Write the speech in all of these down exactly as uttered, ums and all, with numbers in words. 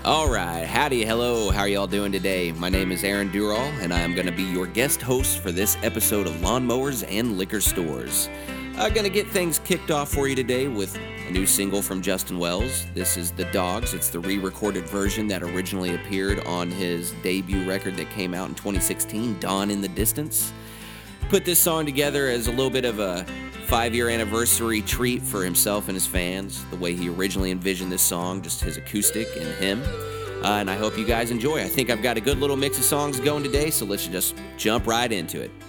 All right, howdy, hello, how are y'all doing today? My name is Aaron Durall, and I am going to be your guest host for this episode of Lawnmowers and Liquor Stores. I'm going to get things kicked off for you today with a new single from Justin Wells. This is The Dogs. It's the re-recorded version that originally appeared on his debut record that came out in twenty sixteen, Dawn in the Distance. Put this song together as a little bit of a five-year anniversary treat for himself and his fans, the way he originally envisioned this song, just his acoustic and him. Uh, and I hope you guys enjoy. I think I've got a good little mix of songs going today, so let's just jump right into it.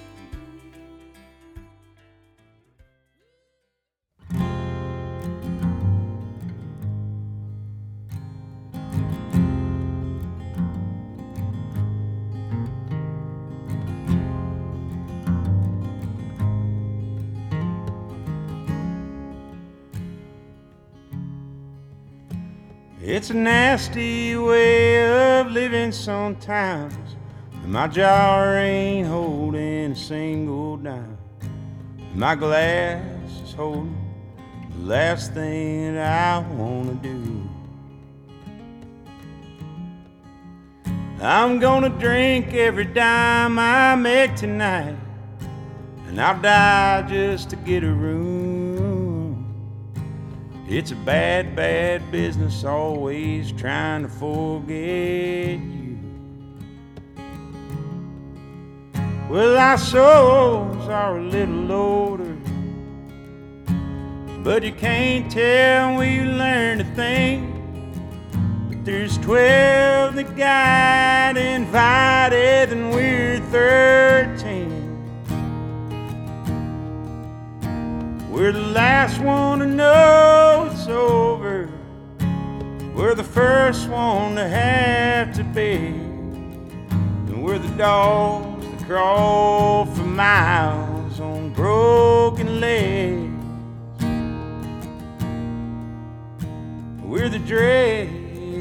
It's a nasty way of living sometimes, and my jar ain't holding a single dime. My glass is holding the last thing that I wanna do. I'm gonna drink every dime I make tonight, and I'll die just to get a room. It's a bad, bad business, always trying to forget you. Well, our souls are a little older, but you can't tell when you learn to think. But there's twelve that got invited and we're thirteen. We're the last one to know it's over. We're the first one to have to beg. And we're the dogs that crawl for miles on broken legs. We're the dregs.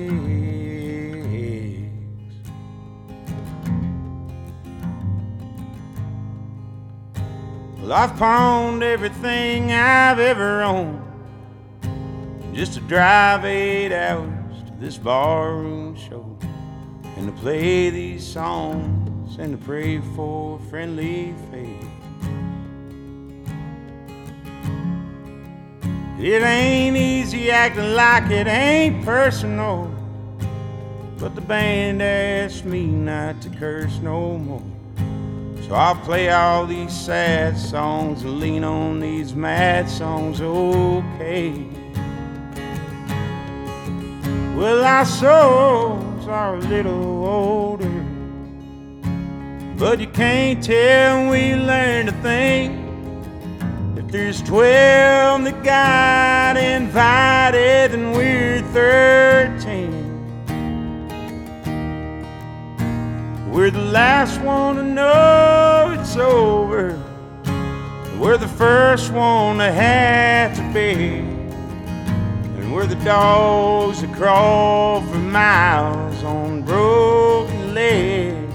Well, I've pawned everything I've ever owned just to drive eight hours to this barroom show, and to play these songs and to pray for a friendly fate. It ain't easy acting like it ain't personal, but the band asked me not to curse no more. So I'll play all these sad songs and lean on these mad songs, okay. Well, our souls are a little older, but you can't tell when you learn to think. If there's twelve that got invited and we're thirteen, we're the last one to know it's over. We're the first one to have to beg. And we're the dogs that crawl for miles on broken legs.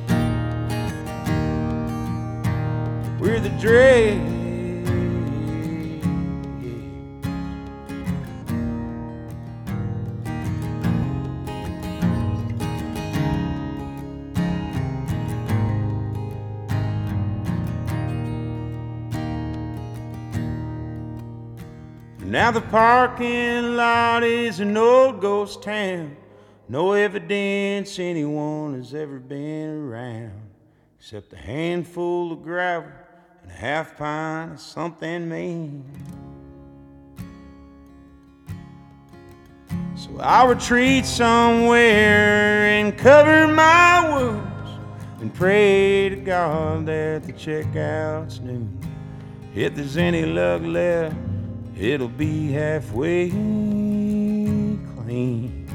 We're the dregs. Now the parking lot is an old ghost town. No evidence anyone has ever been around, except a handful of gravel and a half pint of something mean. So I'll retreat somewhere and cover my wounds and pray to God that the checkout's noon. If there's any luck left, it'll be halfway clean.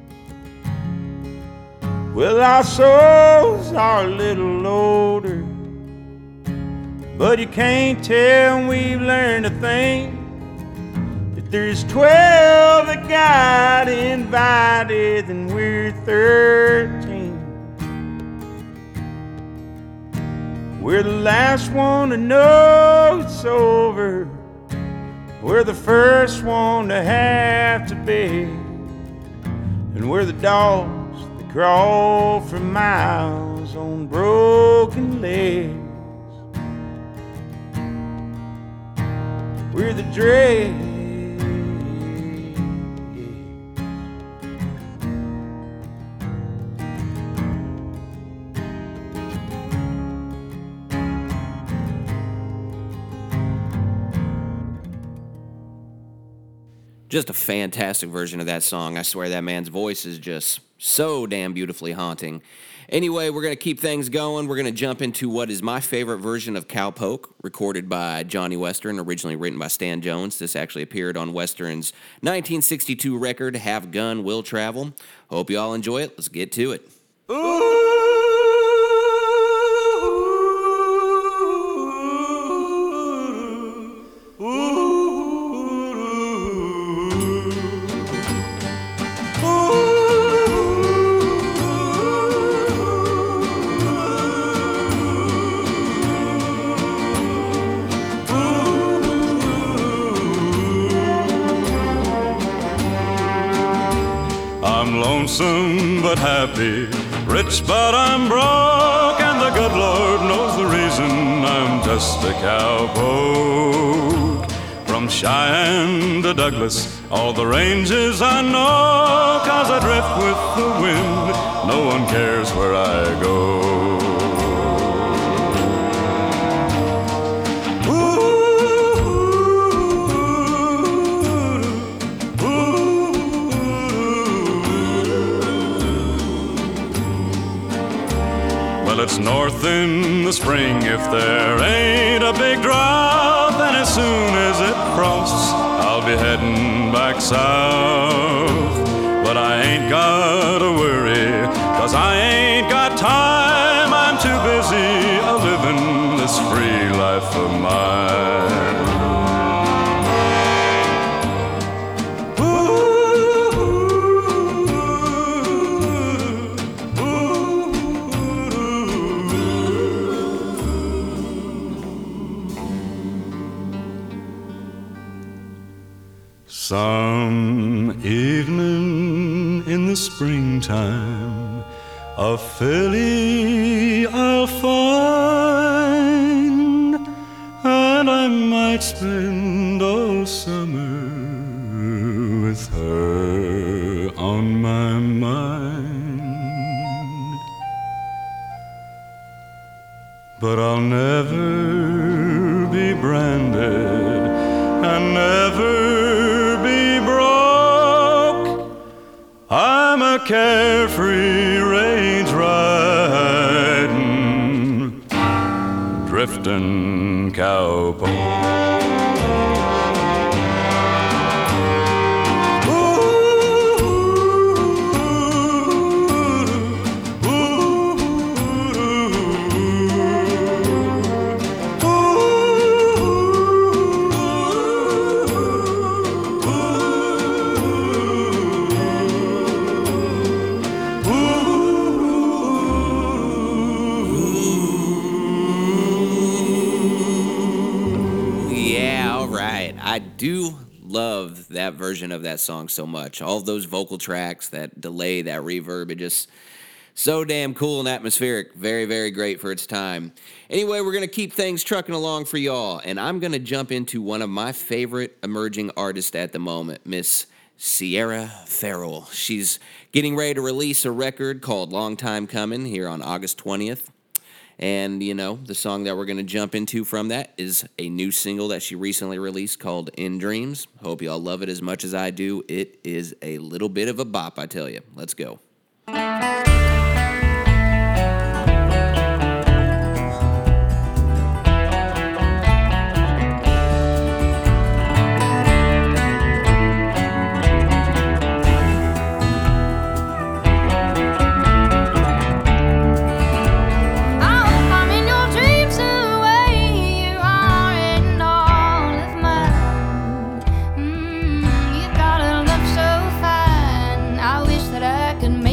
Well, our souls are a little older, but you can't tell we've learned to think. If there's twelve that got invited, then we're thirteen. We're the last one to know it's over. We're the first one to have to beg. And we're the dogs that crawl for miles on broken legs. We're the dregs. Just a fantastic version of that song. I swear that man's voice is just so damn beautifully haunting. Anyway, we're going to keep things going. We're going to jump into what is my favorite version of Cowpoke, recorded by Johnny Western, originally written by Stan Jones. This actually appeared on Western's nineteen sixty-two record, Have Gun, Will Travel. Hope you all enjoy it. Let's get to it. Ooh. Lonesome but happy, rich but I'm broke, and the good Lord knows the reason I'm just a cowpoke. From Cheyenne to Douglas, all the ranges I know, 'cause I drift with the wind, no one cares where I go. It's north in the spring if there ain't a big drought, then as soon as it frosts, I'll be heading back south. But I ain't gotta worry, 'cause I ain't got time. I'm too busy a-living this free life of mine. Some evening in the springtime, a filly I'll find, and I might spend all summer with her on my mind. But I'll never be branded and never I'm a carefree range riding, drifting cowpoke. I do love that version of that song so much. All of those vocal tracks, that delay, that reverb, it just so damn cool and atmospheric. Very, very great for its time. Anyway, we're going to keep things trucking along for y'all, and I'm going to jump into one of my favorite emerging artists at the moment, Miss Sierra Farrell. She's getting ready to release a record called Long Time Coming here on August twentieth. And, you know, the song that we're going to jump into from that is a new single that she recently released called In Dreams. Hope y'all love it as much as I do. It is a little bit of a bop, I tell you. Let's go. That I can make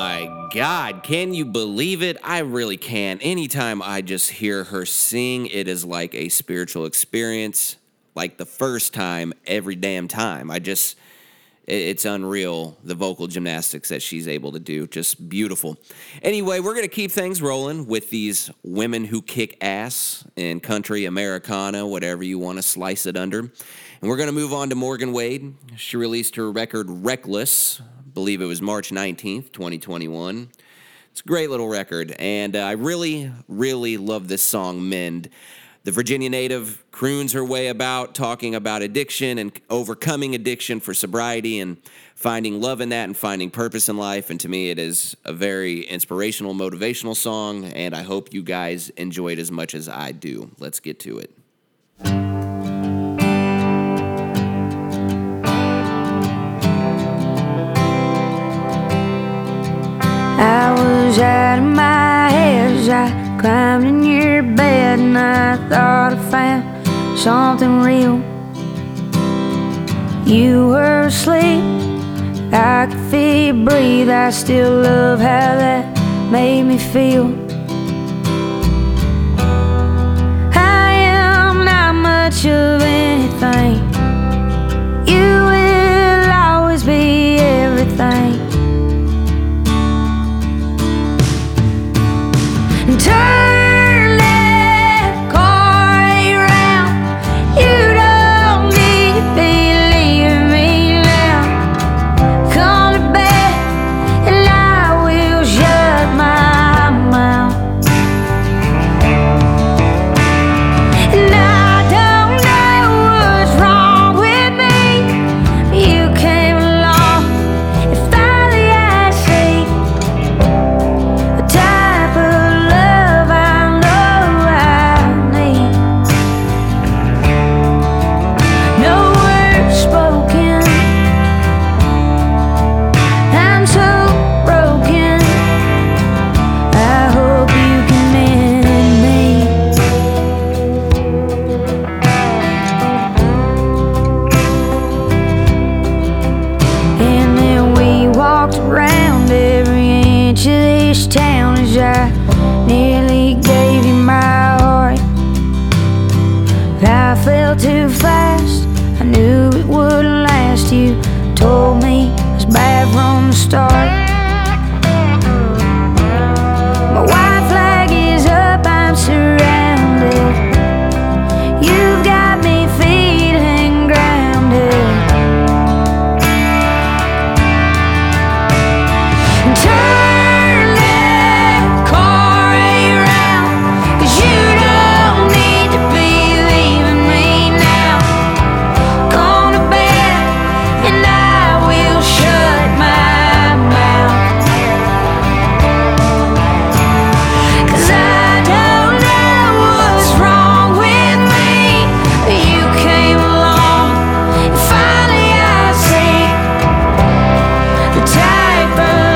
my God, can you believe it? I really can. Anytime I just hear her sing, it is like a spiritual experience, like the first time every damn time. I just, it's unreal, the vocal gymnastics that she's able to do. Just beautiful. Anyway, we're going to keep things rolling with these women who kick ass in country, Americana, whatever you want to slice it under. And we're going to move on to Morgan Wade. She released her record Reckless, I believe it was March nineteenth, twenty twenty-one. It's a great little record, and uh, I really, really love this song, Mend. The Virginia native croons her way about, talking about addiction and overcoming addiction for sobriety and finding love in that and finding purpose in life. And to me, it is a very inspirational, motivational song, and I hope you guys enjoy it as much as I do. Let's get to it. I was out of my head as I climbed in your bed, and I thought I found something real. You were asleep, I could feel you breathe. I still love how that made me feel. I am not much of anything. You will always be everything. Turn that car around. You don't need to be leaving me now. Come to bed and I will shut my mouth. And I don't know what's wrong with me. You came along and finally I see the type of around every inch of this town as I nearly gave you my heart. I fell too fast, I knew it wouldn't last. You told me it was bad from the start. My white flag is up, I'm surrounded. You've got me feeling grounded. Turn that car around, 'cause you don't need to be leaving me now. Come to bed and I will shut my mouth. 'Cause I don't know what's wrong with me, but you came along and finally I see the type of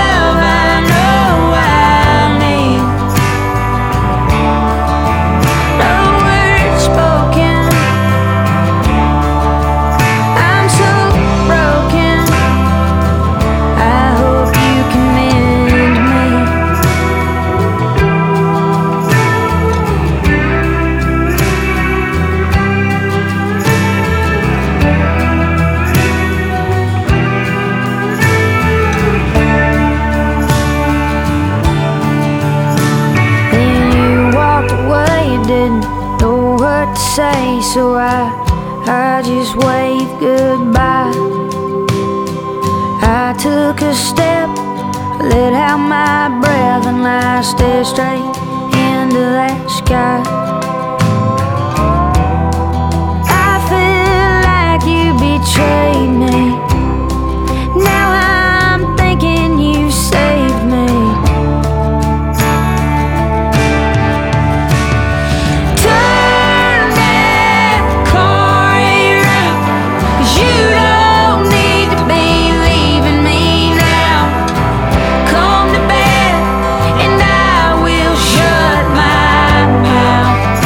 say, so I, I just waved goodbye. I took a step, let out my breath, and I stared straight into that sky. I feel like you betrayed me. Now I'm thinking you saved me. Come to bed and I will shut my mouth.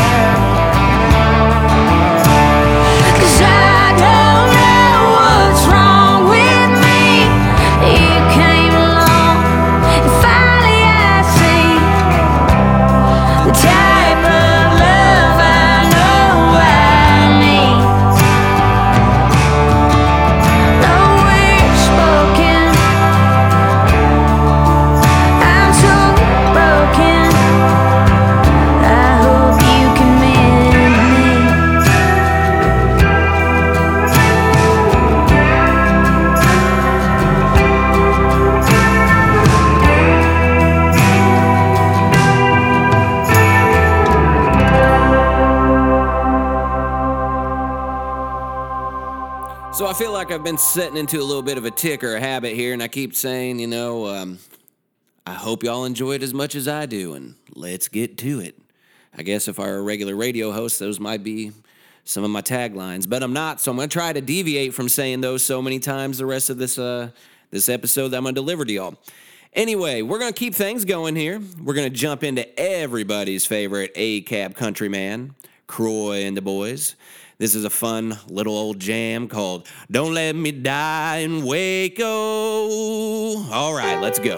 So I feel like I've been setting into a little bit of a tick or a habit here, and I keep saying, you know, um, I hope y'all enjoy it as much as I do, and let's get to it. I guess if I were a regular radio host, those might be some of my taglines, but I'm not, so I'm going to try to deviate from saying those so many times the rest of this uh, this episode that I'm going to deliver to y'all. Anyway, we're going to keep things going here. We're going to jump into everybody's favorite A C A B countryman, Croy and the Boys. This is a fun little old jam called Don't Let Me Die in Waco. All right, let's go.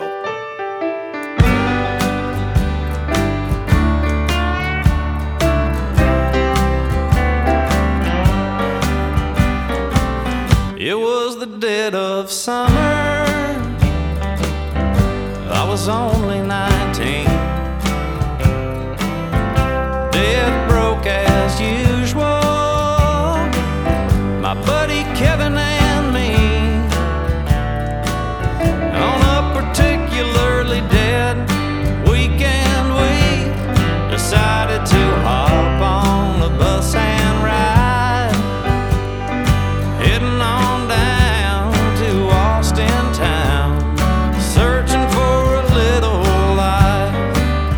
It was the dead of summer, I was only nineteen. Death broke as usual, my buddy Kevin and me. On a particularly dead weekend, we decided to hop on the bus and ride, heading on down to Austin town, searching for a little life.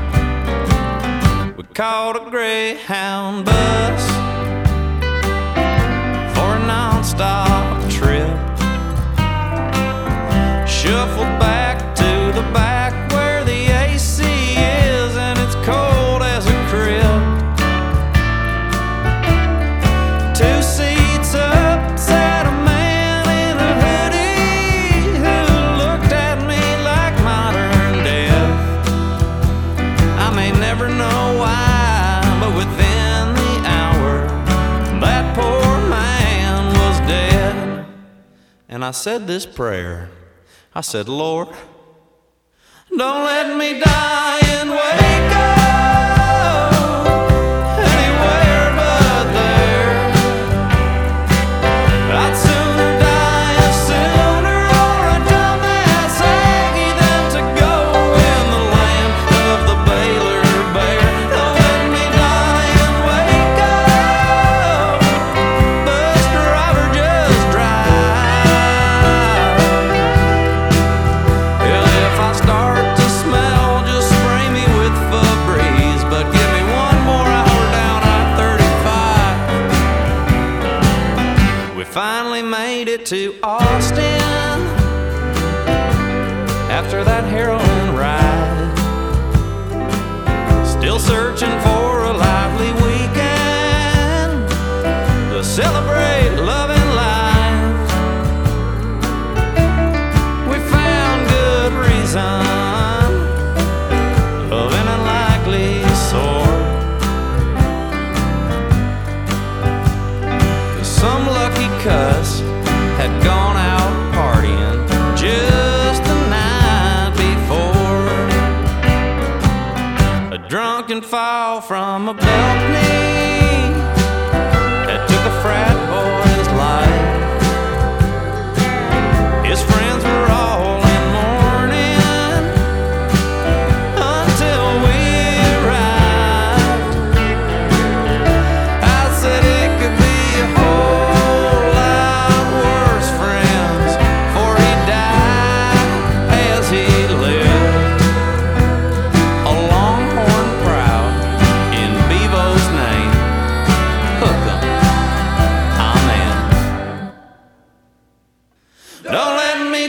We caught a Greyhound bus for a non-stop trip, shuffled back to the back where the A C is and it's cold as a crib. Two seats up sat a man in a hoodie who looked at me like modern death. I may never know why, but within the hour that poor man was dead. And I said this prayer. I said, Lord, don't let me die in Waco, anywhere but there. I'd sooner die a sooner or a dumbass Aggie than to go in the land of the Baylor Bear. Don't let me die in Waco, bus driver, just drive. Hell, if I start to smell, just spray me with Febreze, but give me one more hour down I thirty-five. We finally made it to Austin after that heroin ride, still searching for a lively weekend to celebrate love and life. We found good reason of an unlikely sort, 'cause some lucky cuss had gone out partying just the night before. A drunken fall from a balcony that took a frat boy's life. His friends were all in mourning until we arrived. I said it could be a whole lot worse, friends, for he died as he lived, a Longhorn proud in Bevo's name. Hook 'em, amen. Don't let me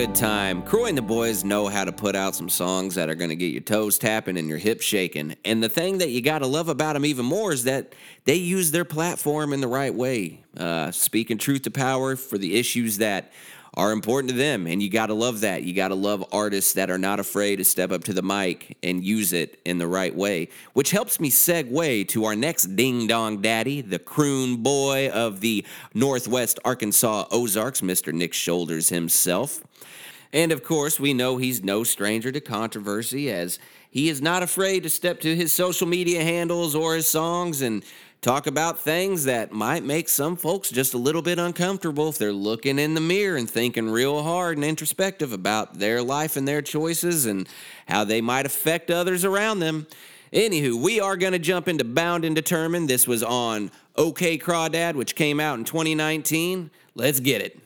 good time. Croy and the boys know how to put out some songs that are going to get your toes tapping and your hips shaking. And the thing that you got to love about them even more is that they use their platform in the right way, uh, speaking truth to power for the issues that are important to them. And you got to love that. You got to love artists that are not afraid to step up to the mic and use it in the right way, which helps me segue to our next ding-dong daddy, the croon boy of the Northwest Arkansas Ozarks, Mister Nick Shoulders himself. And of course, we know he's no stranger to controversy, as he is not afraid to step to his social media handles or his songs and talk about things that might make some folks just a little bit uncomfortable if they're looking in the mirror and thinking real hard and introspective about their life and their choices and how they might affect others around them. Anywho, we are going to jump into Bound and Determined. This was on OK Crawdad, which came out in twenty nineteen. Let's get it.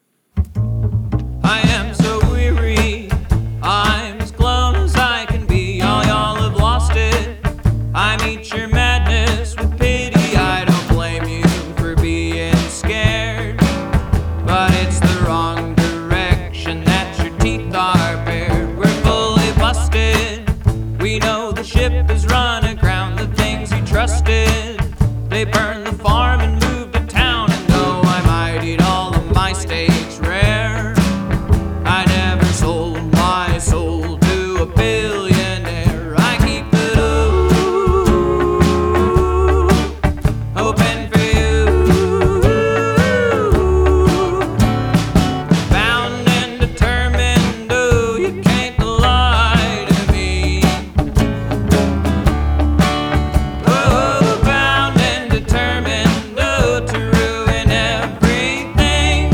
I am so weary, I'm as glum as I can be. All y'all have lost it. I meet your madness with pity. I don't blame you for being scared, but it's the wrong direction that your teeth are bared. We're fully busted. We know the ship is run aground. The things you trusted, they burned the farm and moved to town. And though I might eat all of my stage rare, I never sold my soul to a billionaire. I keep it up, hoping for you. Bound and determined, oh, you can't lie to me. Oh, bound and determined, oh, to ruin everything.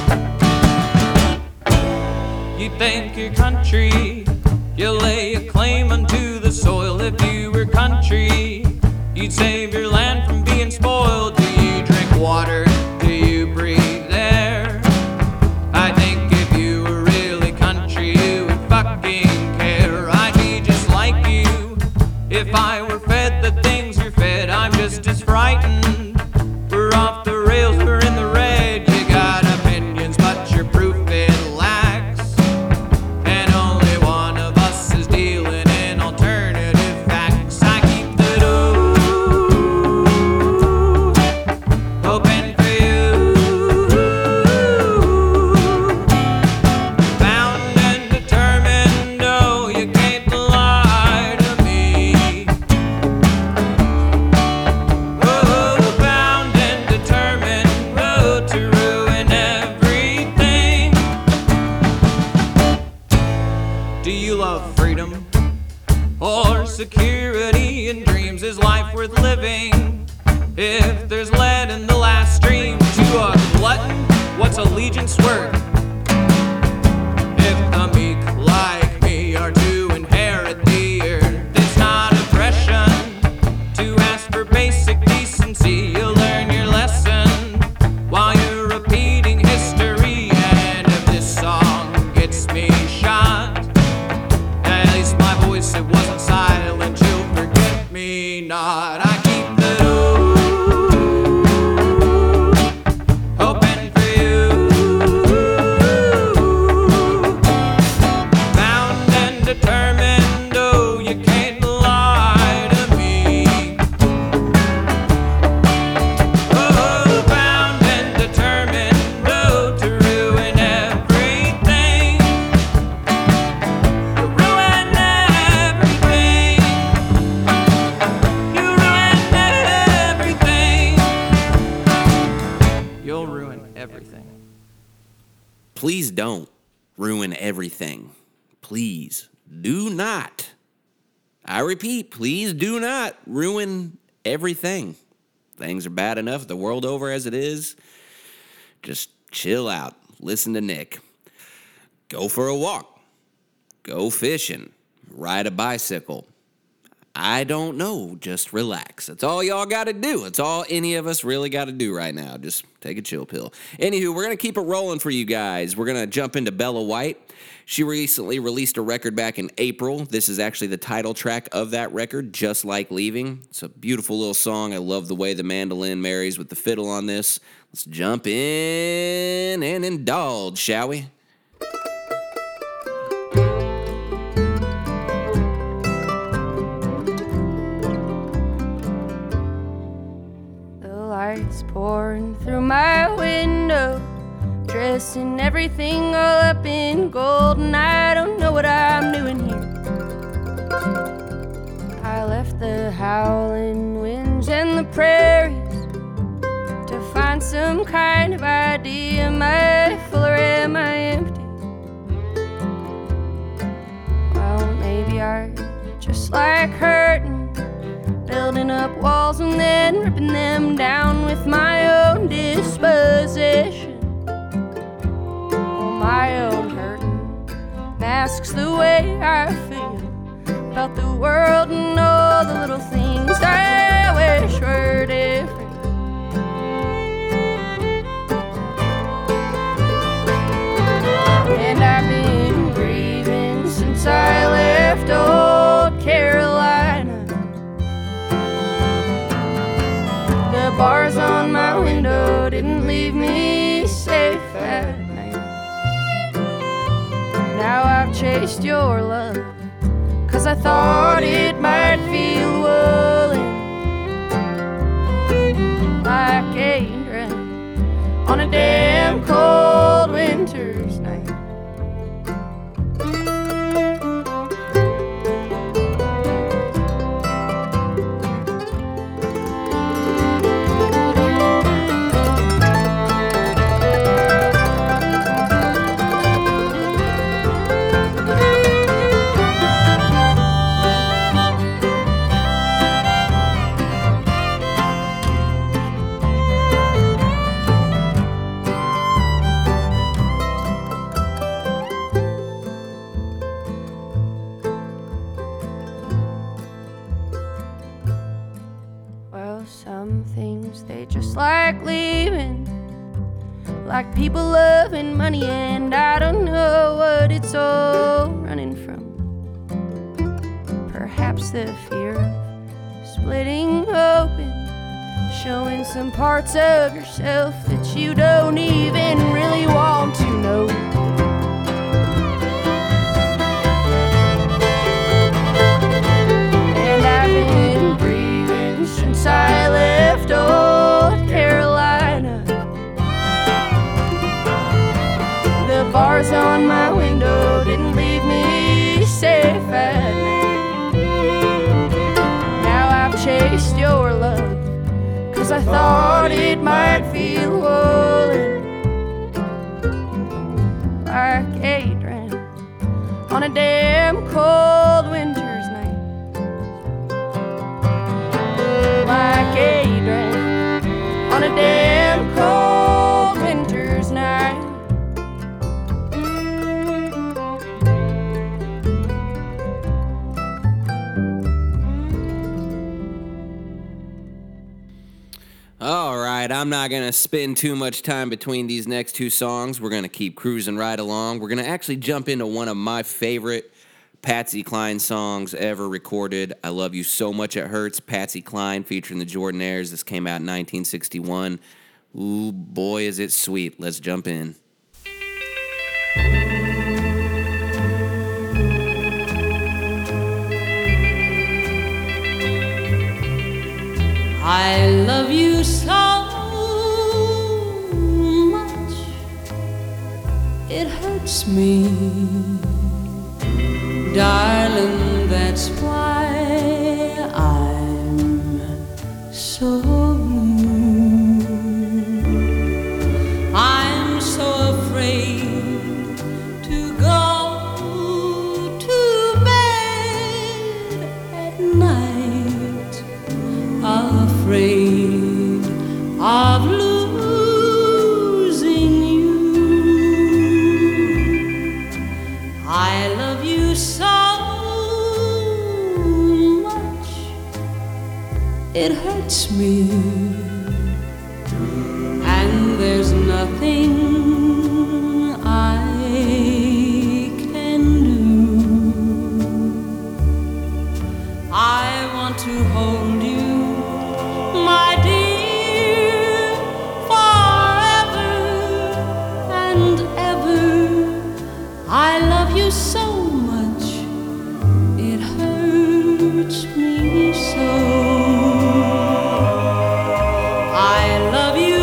You think your country, you'll lay a claim unto the soil. If you were country, you'd save your land from being spoiled. Do you drink water? Do you breathe air? I think if you were really country, you would fucking care. I'd be just like you if I were fed the things you're fed. I'm just as frightened. We're off the rails, we're in the red. You got opinions, but your proof it lacks. And only one of us is dealing in alternative facts. I keep the door open for you. Bound and determined, oh, you can't lie to me. Oh, bound and determined, oh, to ruin everything. Do you love freedom or security and dreams? Is life worth living if there's lead in the last stream? To a glutton, what's allegiance worth if the meek like me are to inherit the earth? It's not oppression to ask for basic decency. You'll learn your lesson while you're repeating history. And if this song gets me shot, at least my voice, it wasn't silent. You'll forget me not. I keep the door open for you. Bound and determined, oh, you can't lie to me. Oh, bound and determined, oh, to ruin everything. You ruin everything. You ruin everything. You'll ruin everything. Please don't ruin everything. Please do not. I repeat, please do not ruin everything. Things are bad enough the world over as it is. Just chill out. Listen to Nick. Go for a walk. Go fishing. Ride a bicycle. I don't know. Just relax. That's all y'all got to do. It's all any of us really got to do right now. Just take a chill pill. Anywho, we're going to keep it rolling for you guys. We're going to jump into Bella White. She recently released a record back in April. This is actually the title track of that record, Just Like Leaving. It's a beautiful little song. I love the way the mandolin marries with the fiddle on this. Let's jump in and indulge, shall we? pouring through my window, dressed in everything all up in gold, and I don't know what I'm doing here. I left the howling winds and the prairies to find some kind of idea. Am I full or am I empty? Well, maybe I just like hurting, building up walls and then ripping them down with my own disposition. My own hurting masks the way I feel about the world and all the little things I wish were different. And I've been grieving since I left old Carolina. The bars on my window didn't leave me safe at night. Now I've chased your love, 'cause I thought it might feel woolen, like a rain on a damn cold winter's night. Like leaving, like people loving money, and I don't know what it's all running from. Perhaps the fear of splitting open, showing some parts of yourself that you don't even really want to know. And I've been grieving since I left old Carolina. The bars on my window didn't leave me safe at night. Now I've chased your love, 'cause I thought it might feel woolen, like a drain on a damn cold winter's night. Like a drain on a damn cold winter's night. All right, I'm not going to spend too much time between these next two songs. We're going to keep cruising right along. We're going to actually jump into one of my favorite Patsy Cline songs ever recorded. I Love You So Much It Hurts, Patsy Cline featuring the Jordanaires. This came out in nineteen sixty-one. Ooh, boy, is it sweet. Let's jump in. I love you so much, it hurts me, darling, that's why I'm so blue. I'm so afraid to go to bed at night, afraid of losing you. I love you so much, it hurts me, and there's nothing I can do. I want to hold you, my dear, forever and ever. I love you so much, it hurts me so. I love you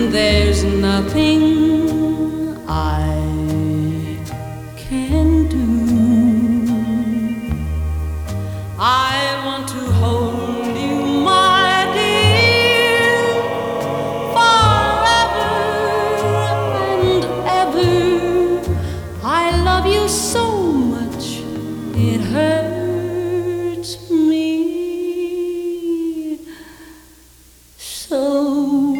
and there's nothing I can do. I want to hold you, my dear, forever and ever. I love you so much, it hurts me so.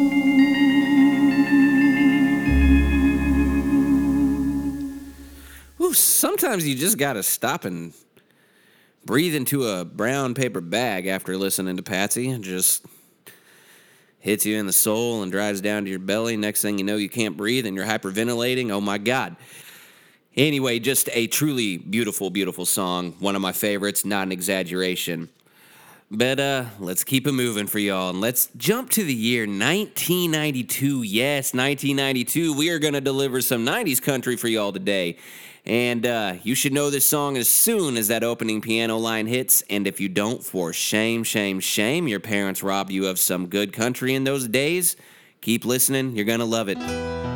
Ooh, sometimes you just gotta stop and breathe into a brown paper bag after listening to Patsy. It just hits you in the soul and drives down to your belly. Next thing you know, you can't breathe and you're hyperventilating. Oh my God. Anyway, just a truly beautiful, beautiful song. One of my favorites, not an exaggeration. But uh, let's keep it moving for y'all, and let's jump to the year nineteen ninety-two. Yes, nineteen ninety-two. We are going to deliver some nineties country for y'all today. And uh, you should know this song as soon as that opening piano line hits. And if you don't, for shame, shame, shame, your parents robbed you of some good country in those days. Keep listening. You're going to love it.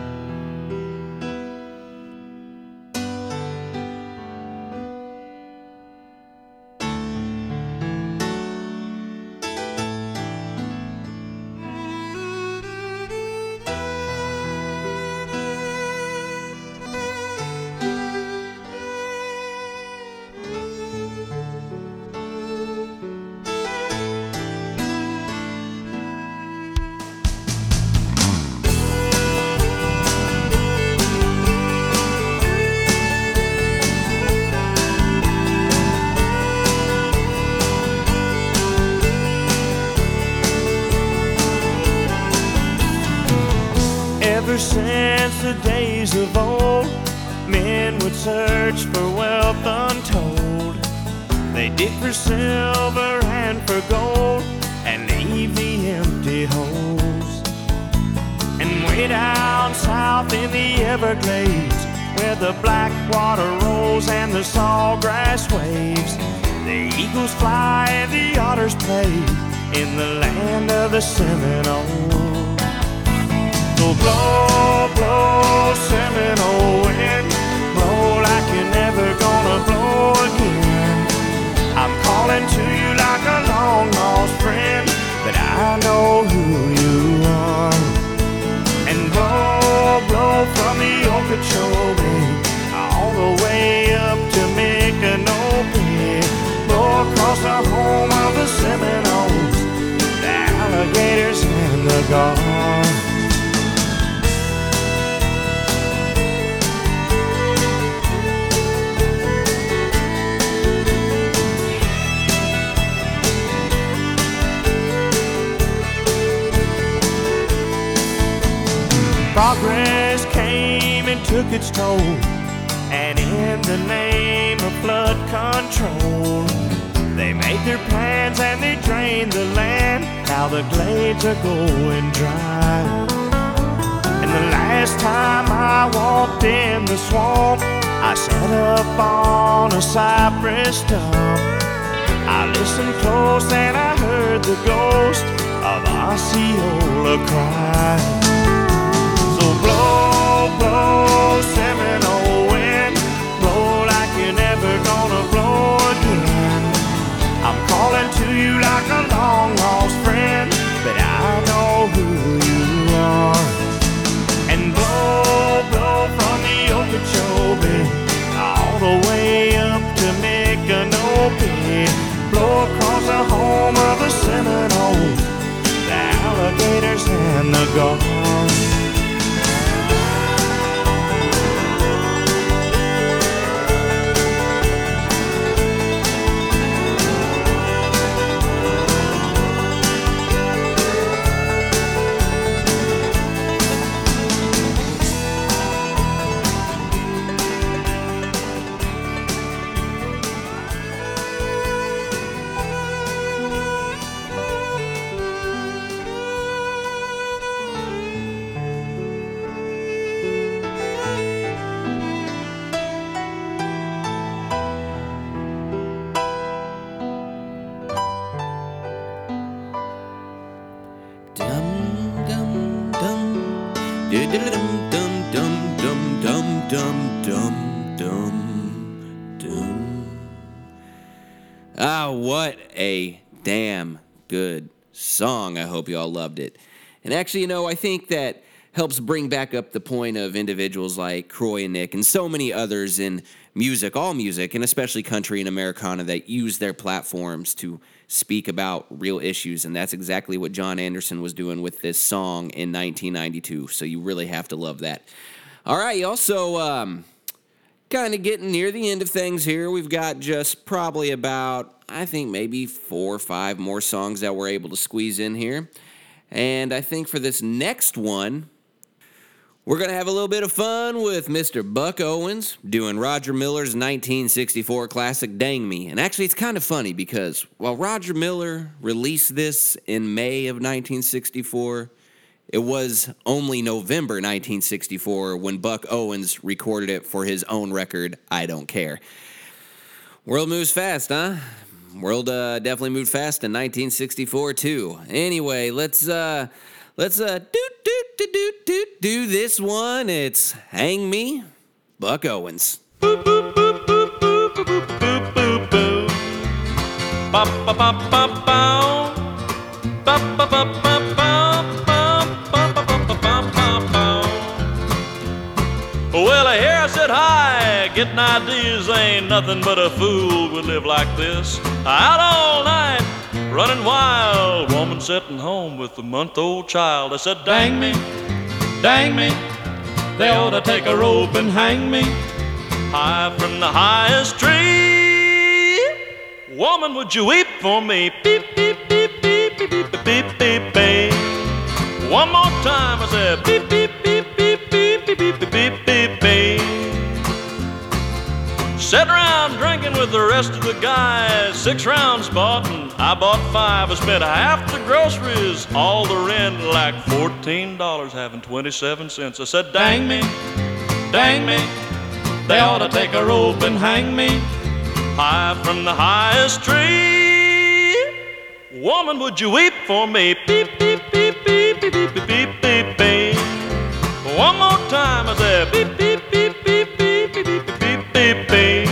Ever since the days of old, men would search for wealth untold. They dig for silver and for gold and leave the empty holes. And way down south in the Everglades, where the black water rolls and the sawgrass waves, the eagles fly and the otters play in the land of the Seminoles. So blow, blow, Seminole wind, blow like you're never gonna blow again. I'm calling to you like a long lost friend, but I know who you are. And blow, blow from the Okeechobee all the way up to Micanopy. Blow across the home of the Seminoles, the alligators and the gulls. Progress came and took its toll, and in the name of flood control, they made their plans and they drained the land. Now the glades are going dry. And the last time I walked in the swamp, I sat up on a cypress stump. I listened close and I heard the ghost of Osceola cry. Blow, blow, Seminole wind, blow like you're never gonna blow again. I'm calling to you like a long lost friend, but I know who you are. And blow, blow from the Okeechobee all the way up to Micanopy. Blow across the home of the Seminoles, the alligators and the gulls. Dum dum dum dum dum dum dum dum dum. Ah, what a damn good song. I hope you all loved it. And actually, you know, I think that helps bring back up the point of individuals like Croy and Nick and so many others in music, all music, and especially country and Americana, that use their platforms to speak about real issues. And that's exactly what John Anderson was doing with this song in nineteen ninety-two. So you really have to love that. All right, y'all. So um, kind of getting near the end of things here. We've got just probably about, I think, maybe four or five more songs that we're able to squeeze in here. And I think for this next one, we're going to have a little bit of fun with Mister Buck Owens doing Roger Miller's nineteen sixty-four classic Dang Me. And actually, it's kind of funny because while Roger Miller released this in May of nineteen sixty-four, it was only November nineteen sixty-four when Buck Owens recorded it for his own record, I Don't Care. World moves fast, huh? World uh, definitely moved fast in nineteen sixty-four, too. Anyway, let's... Uh, Let's uh do do do do do do this one. It's Hang Me, Buck Owens. Boop boop boop boop boop boop boop boop boop. Bop bop bop bop bow. Bop bop bop bop bow. Bop bop bop bop bop bop bow. Well, I hear I said hi. Getting ideas ain't nothing but a fool would live like this. Out all night, running wild, woman sitting home with a month-old child. I said, dang me, dang me, they ought to take a rope and hang me high from the highest tree. Woman, would you weep for me? Beep, beep, beep, beep, beep, beep, beep, beep, beep. One more time, I said, beep, beep, beep, beep, beep, beep, beep, beep, beep, beep. Sat around drinking with the rest of the guys. Six rounds bought and I bought five. I spent half the groceries, all the rent, like fourteen dollars, having twenty-seven cents. I said, dang me, dang me, they ought to take a rope and hang me high from the highest tree. Woman, would you weep for me? Beep, beep, beep, beep, beep, beep, beep, beep, beep, beep. One more time, I said, beep, beep, beep, beep, beep, beep, beep, beep, beep, beep.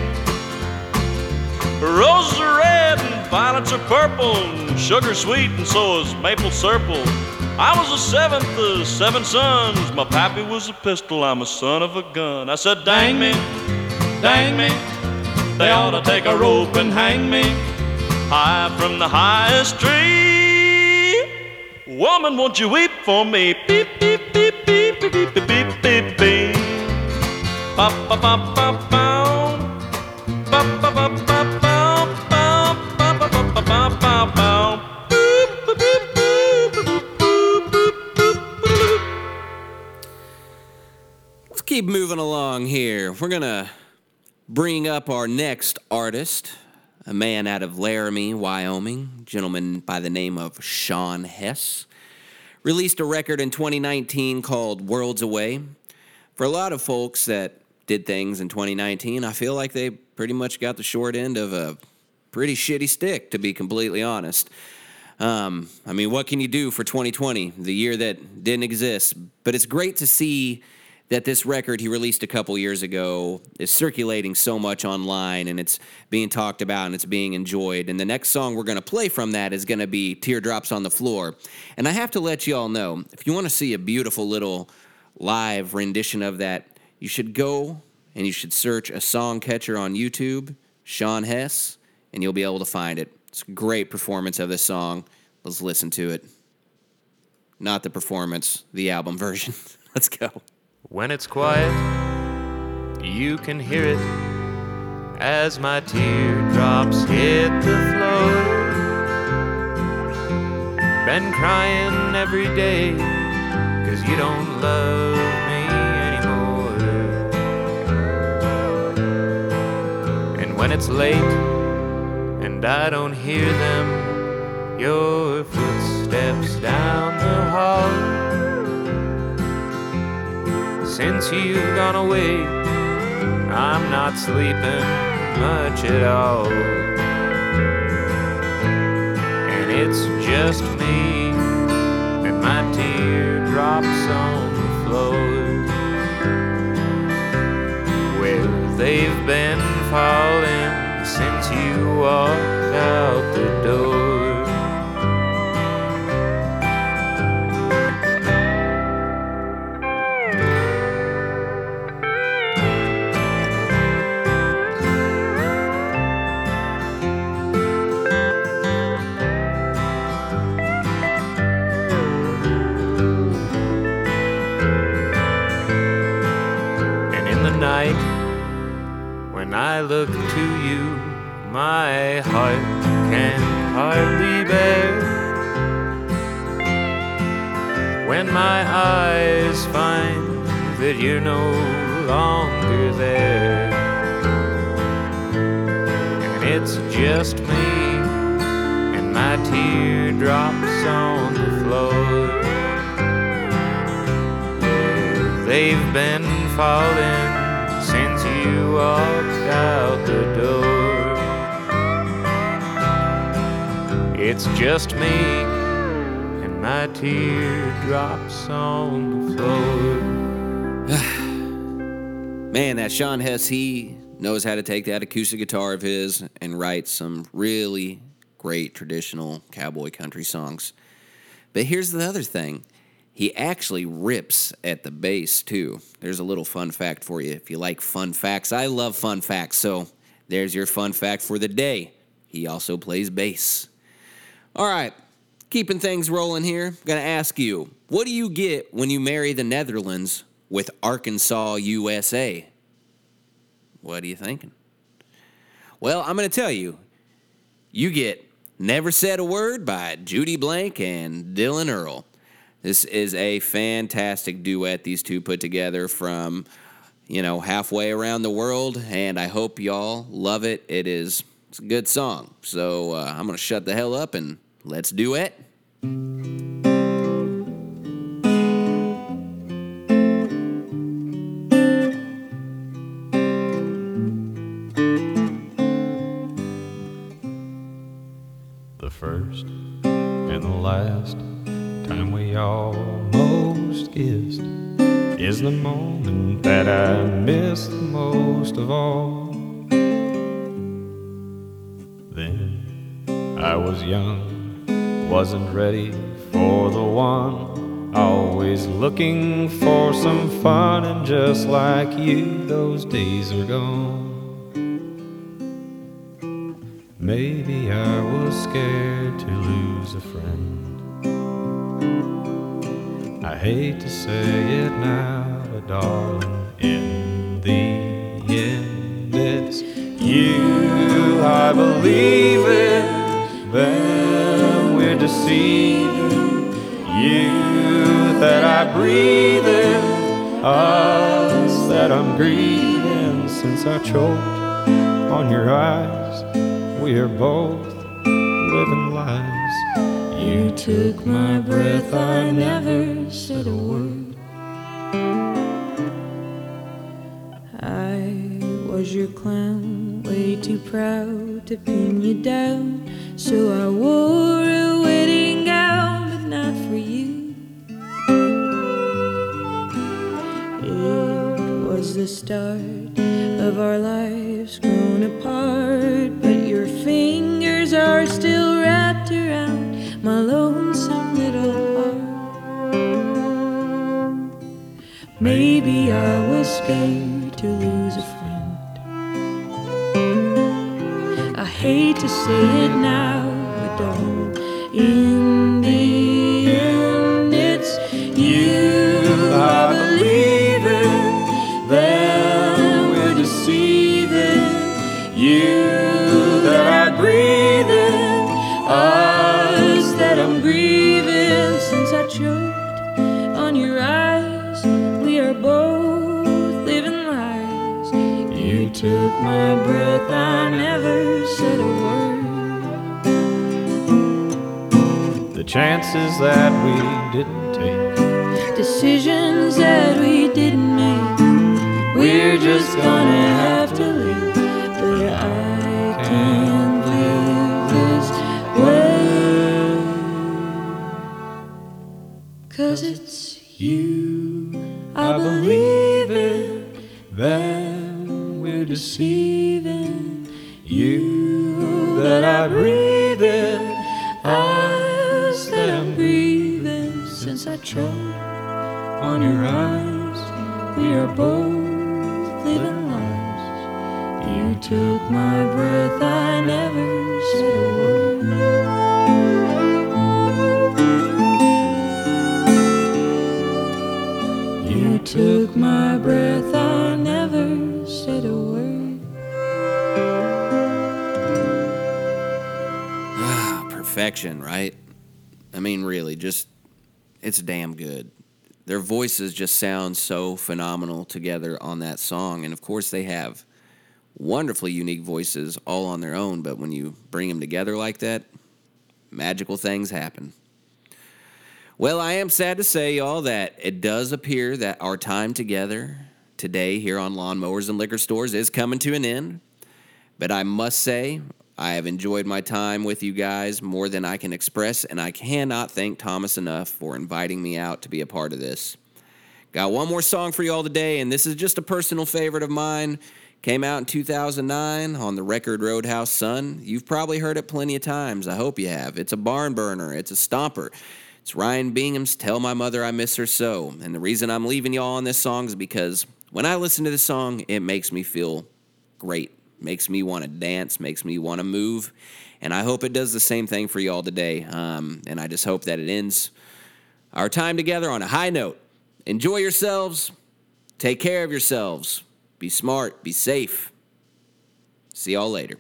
Roses are red and violets are purple, and sugar sweet and so is maple syrup. I was the seventh of seven sons. My pappy was a pistol, I'm a son of a gun. I said, dang me, dang me, they ought to take a rope and hang me high from the highest tree. Woman, won't you weep for me? Beep, beep, beep, beep, beep, beep, beep, beep, beep, beep. Ba, ba, ba, ba, ba. Ba, ba, ba, ba, ba. Let's keep moving along here. We're going to bring up our next artist, a man out of Laramie, Wyoming, a gentleman by the name of Sean Hess. Released a record in twenty nineteen called Worlds Away. For a lot of folks that did things in twenty nineteen, I feel like they pretty much got the short end of a pretty shitty stick, to be completely honest. Um, I mean, what can you do for twenty twenty, the year that didn't exist? But it's great to see that this record he released a couple years ago is circulating so much online, and it's being talked about and it's being enjoyed. And the next song we're going to play from that is going to be Teardrops on the Floor. And I have to let you all know, if you want to see a beautiful little live rendition of that, you should go and you should search a song catcher on YouTube, Sean Hess, and you'll be able to find it. It's a great performance of this song. Let's listen to it. Not the performance, the album version. Let's go. When it's quiet, you can hear it as my teardrops hit the floor. Been crying every day 'cause you don't love me anymore. And when it's late and I don't hear them, your footsteps down the hall. Since you've gone away, I'm not sleeping much at all. And it's just me and my teardrops on the falling since you walked out the door. When I look to you, my heart can hardly bear. When my eyes find that you're no longer there, and it's just me and my teardrops on the floor. They've been falling since you walked out the door. It's just me and my teardrops on the floor. Man, that Sean Hess, he knows how to take that acoustic guitar of his and write some really great traditional cowboy country songs. But here's the other thing. He actually rips at the bass, too. There's a little fun fact for you. If you like fun facts, I love fun facts, so there's your fun fact for the day. He also plays bass. All right, keeping things rolling here, I'm going to ask you, what do you get when you marry the Netherlands with Arkansas, U S A? What are you thinking? Well, I'm going to tell you. You get Never Said a Word by Judy Blank and Dylan Earl. This is a fantastic duet these two put together from, you know, halfway around the world, and I hope y'all love it. It is it's a good song. So uh, I'm going to shut the hell up and let's duet. The first and the last time we almost kissed is the moment that I miss the most of all. Then I was young, wasn't ready for the one, always looking for some fun, and just like you, those days are gone. Maybe I was scared to lose a friend. I hate to say it now, but darling, in the end it's you I believe in, then we're deceiving. You that I breathe in, us that I'm grieving. Since I choked on your eyes, we are both living lies. You took my breath, I never said a word. I was your clown, way too proud to pin you down, so I wore a wedding gown, but not for you. It was the start of our lives grown apart, but your fingers are still wrapped around my lonesome little heart. Maybe I was scared to lose a friend. I hate to say it now, but don't. In the end, it's you I believe in, then we're deceiving. You that I breathe in, us that I'm grieving. Since I choked on your eyes, we are both living lies. You took my breath, I never said a word. The chances that we didn't take, decisions that we didn't make, we're just gonna have to leave. But I can't live this way, 'cause it's you I believe in, then we're deceiving. You that I breathe in, eyes that I'm breathing. Since I choked on your eyes, we are both living lives. You took my breath, I never said a word. You took my breath, I never said a word. Ah, perfection, right? I mean, really, just, it's damn good. Their voices just sound so phenomenal together on that song. And of course, they have wonderfully unique voices all on their own, but when you bring them together like that, magical things happen. Well, I am sad to say, y'all, that it does appear that our time together today here on Lawnmowers and Liquor Stores is coming to an end. But I must say, I have enjoyed my time with you guys more than I can express, and I cannot thank Thomas enough for inviting me out to be a part of this. Got one more song for you all today, and this is just a personal favorite of mine. Came out in two thousand nine on the record Roadhouse Sun. You've probably heard it plenty of times. I hope you have. It's a barn burner. It's a stomper. It's Ryan Bingham's Tell My Mother I Miss Her So. And the reason I'm leaving y'all on this song is because when I listen to this song, it makes me feel great. Makes me want to dance, makes me want to move. And I hope it does the same thing for y'all today. Um, and I just hope that it ends our time together on a high note. Enjoy yourselves. Take care of yourselves. Be smart. Be safe. See y'all later.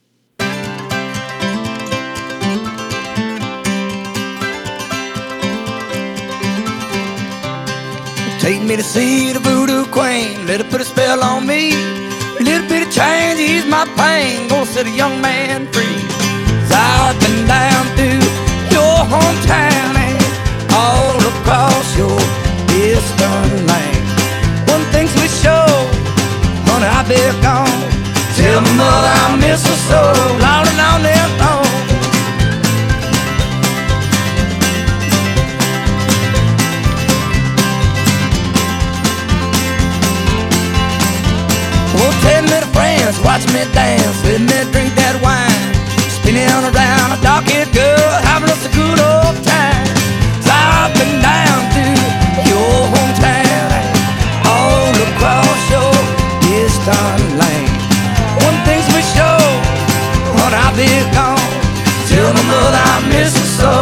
Take me to see the voodoo queen, let her put a spell on me. A little bit of change, ease my pain, gonna set a young man free. 'Cause I've been down through your hometown and all across your eastern land. One thing's for sure, honey, I've been gone. Tell my mother I miss her so, long and on and on. Ten little friends watch me dance, let me drink that wine, spinning around a dark-haired girl, having us a good old time. 'Cause I've been down through your hometown and all across your eastern land. One thing's for sure, when I'll be gone, tell my mother I miss her so.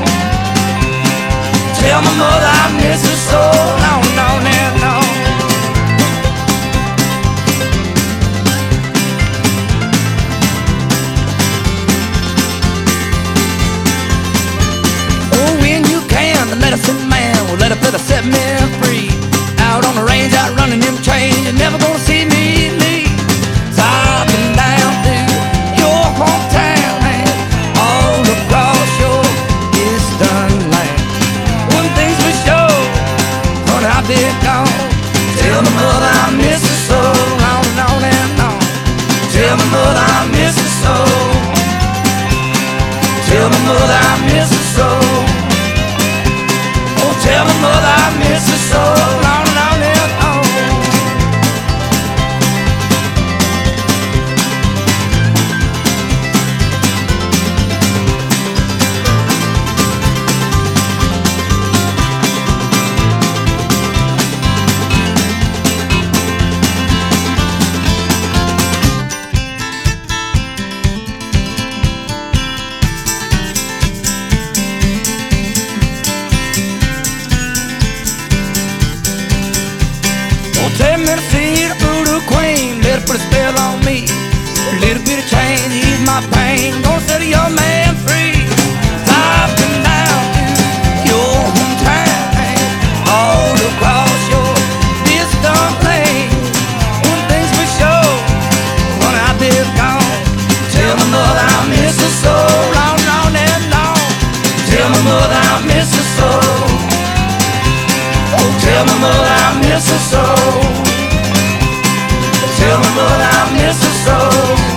Tell my mother I miss her so, no, no, no, no. Medicine man will let her put her set me free. Out on the range, out running them trains, you're never gonna see me leave. 'Cause I've been down through your hometown and all across your eastern land. One thing's for sure, when I've been gone, tell my mother I miss her so, on and on and on. Tell my mother I miss her so. Tell my mother I miss her so. Tell my mother I miss her so, long and on and on. Take me to see the voodoo queen, let her put a spell on me. A little bit of change, ease my pain, gonna set a young man free. 'Cause I've been down to your hometown and all across your distant land. One thing's for sure, when I've been gone, tell my mother I miss her so, long, long and long. Tell my mother I miss her so. Oh, tell my mother I miss her so. Tell my mother I miss her so.